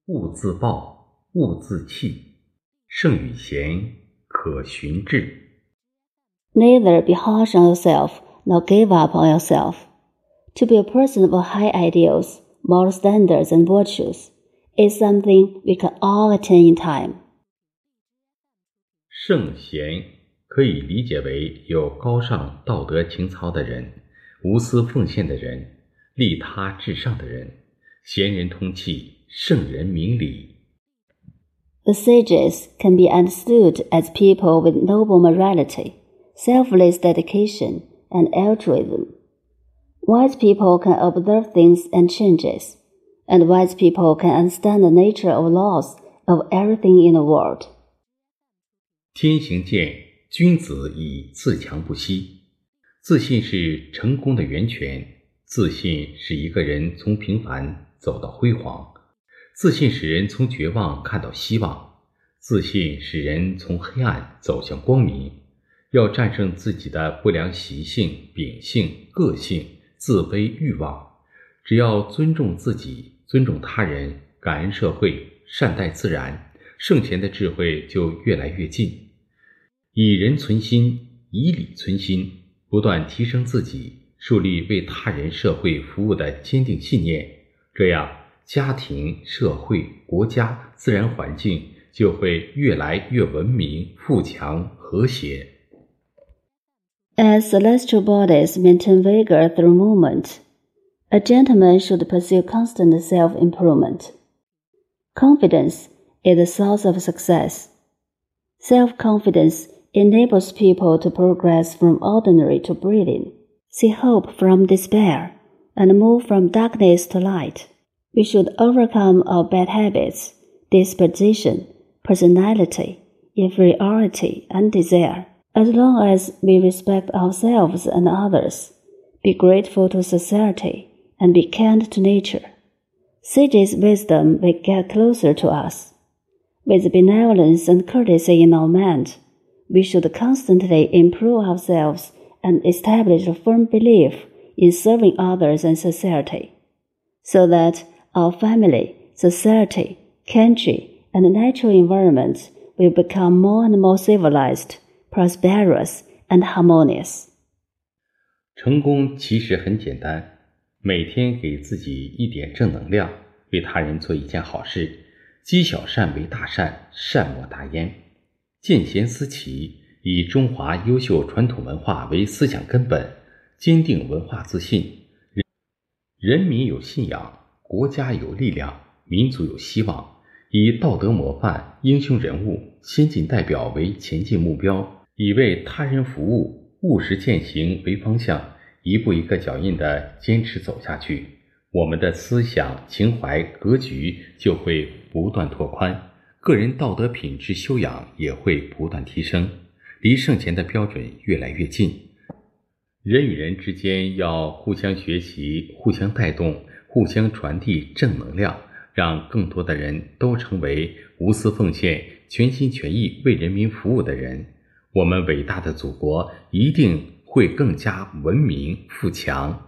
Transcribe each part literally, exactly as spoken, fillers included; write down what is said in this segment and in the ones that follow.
勿自暴，勿自弃，圣与贤，可循志。 Neither be harsh on yourself, nor give up on yourself. To be a person of high ideals, moral standards, and virtues is something we can all attain in time. 圣贤可以理解为有高尚道德情操的人，无私奉献的人，利他至上的人，贤人通气，圣人明理。 The sages can be understood as people with noble morality, selfless dedication, and altruism. Wise people can observe things and changes, and wise people can understand the nature of laws of everything in the world. 天行健，君子以自强不息。自信是成功的源泉，自信使一个人从平凡走到辉煌，自信使人从绝望看到希望，自信使人从黑暗走向光明。要战胜自己的不良习性、秉性、个性、自卑欲望，只要尊重自己，尊重他人，感恩社会，善待自然，圣贤的智慧就越来越近。以人存心，以理存心，不断提升自己，树立为他人社会服务的坚定信念，这样家庭、社会、国家、自然环境就会越来越文明、富强、和谐。 As celestial bodies maintain vigor through movement, a gentleman should pursue constant self-improvement. Confidence is the source of success. Self-confidence enables people to progress from ordinary to brilliant, see hope from despair, and move from darkness to light. We should overcome our bad habits, disposition, personality, inferiority, and desire. As long as we respect ourselves and others, be grateful to society, and be kind to nature, sages' wisdom will get closer to us. With benevolence and courtesy in our mind, we should constantly improve ourselves and establish a firm belief in serving others and society, so that our family, society, country, and natural environment will become more and more civilized, prosperous, and harmonious. 成功其实很简单，每天给自己一点正能量，为他人做一件好事，积小善为大善，善莫大焉。见贤思齐，以中华优秀传统文化为思想根本，坚定文化自信，人民有信仰，国家有力量，民族有希望，以道德模范、英雄人物、先进代表为前进目标，以为他人服务、务实践行为方向，一步一个脚印地坚持走下去，我们的思想、情怀、格局就会不断拓宽，个人道德品质修养也会不断提升，离圣贤的标准越来越近。人与人之间要互相学习，互相带动，互相传递正能量，让更多的人都成为无私奉献、全心全意为人民服务的人，我们伟大的祖国一定会更加文明富强。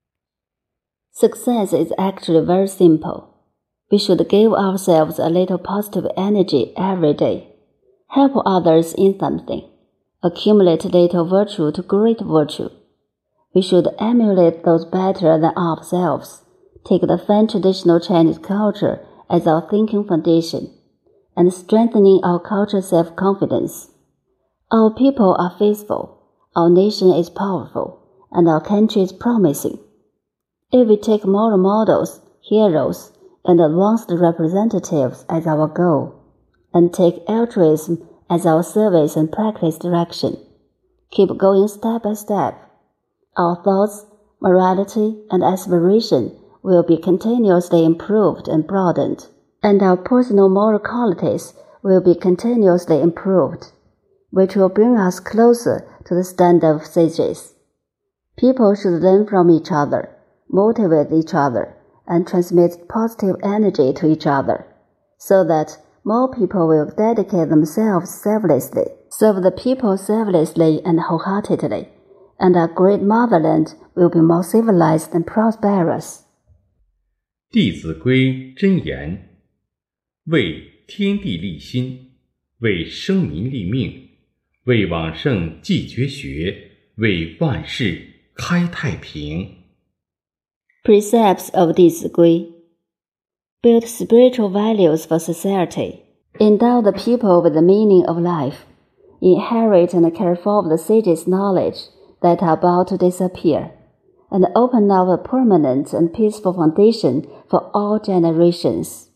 Success is actually very simple. We should give ourselves a little positive energy every day, help others in something, accumulate little virtue to great virtue. We should emulate those better than ourselves, take the fine traditional Chinese culture as our thinking foundation, and strengthening our cultural self-confidence. Our people are faithful, our nation is powerful, and our country is promising. If we take moral models, heroes, and advanced representatives as our goal, and take altruism as our service and practice direction, keep going step by step, our thoughts, morality, and aspiration will be continuously improved and broadened, and our personal moral qualities will be continuously improved, which will bring us closer to the standard of sages. People should learn from each other, motivate each other, and transmit positive energy to each other, so that more people will dedicate themselves selflessly, serve the people selflessly and wholeheartedly, and our great motherland will be more civilized and prosperous. 弟子规真言： 为天地立心，为生民立命，为往圣继绝学，为万世开太平。 Precepts of 弟子规 Build spiritual values for society. Endow the people with the meaning of life. Inherit and care for the sage's knowledge that are about to disappear, and open up a permanent and peaceful foundation for all generations.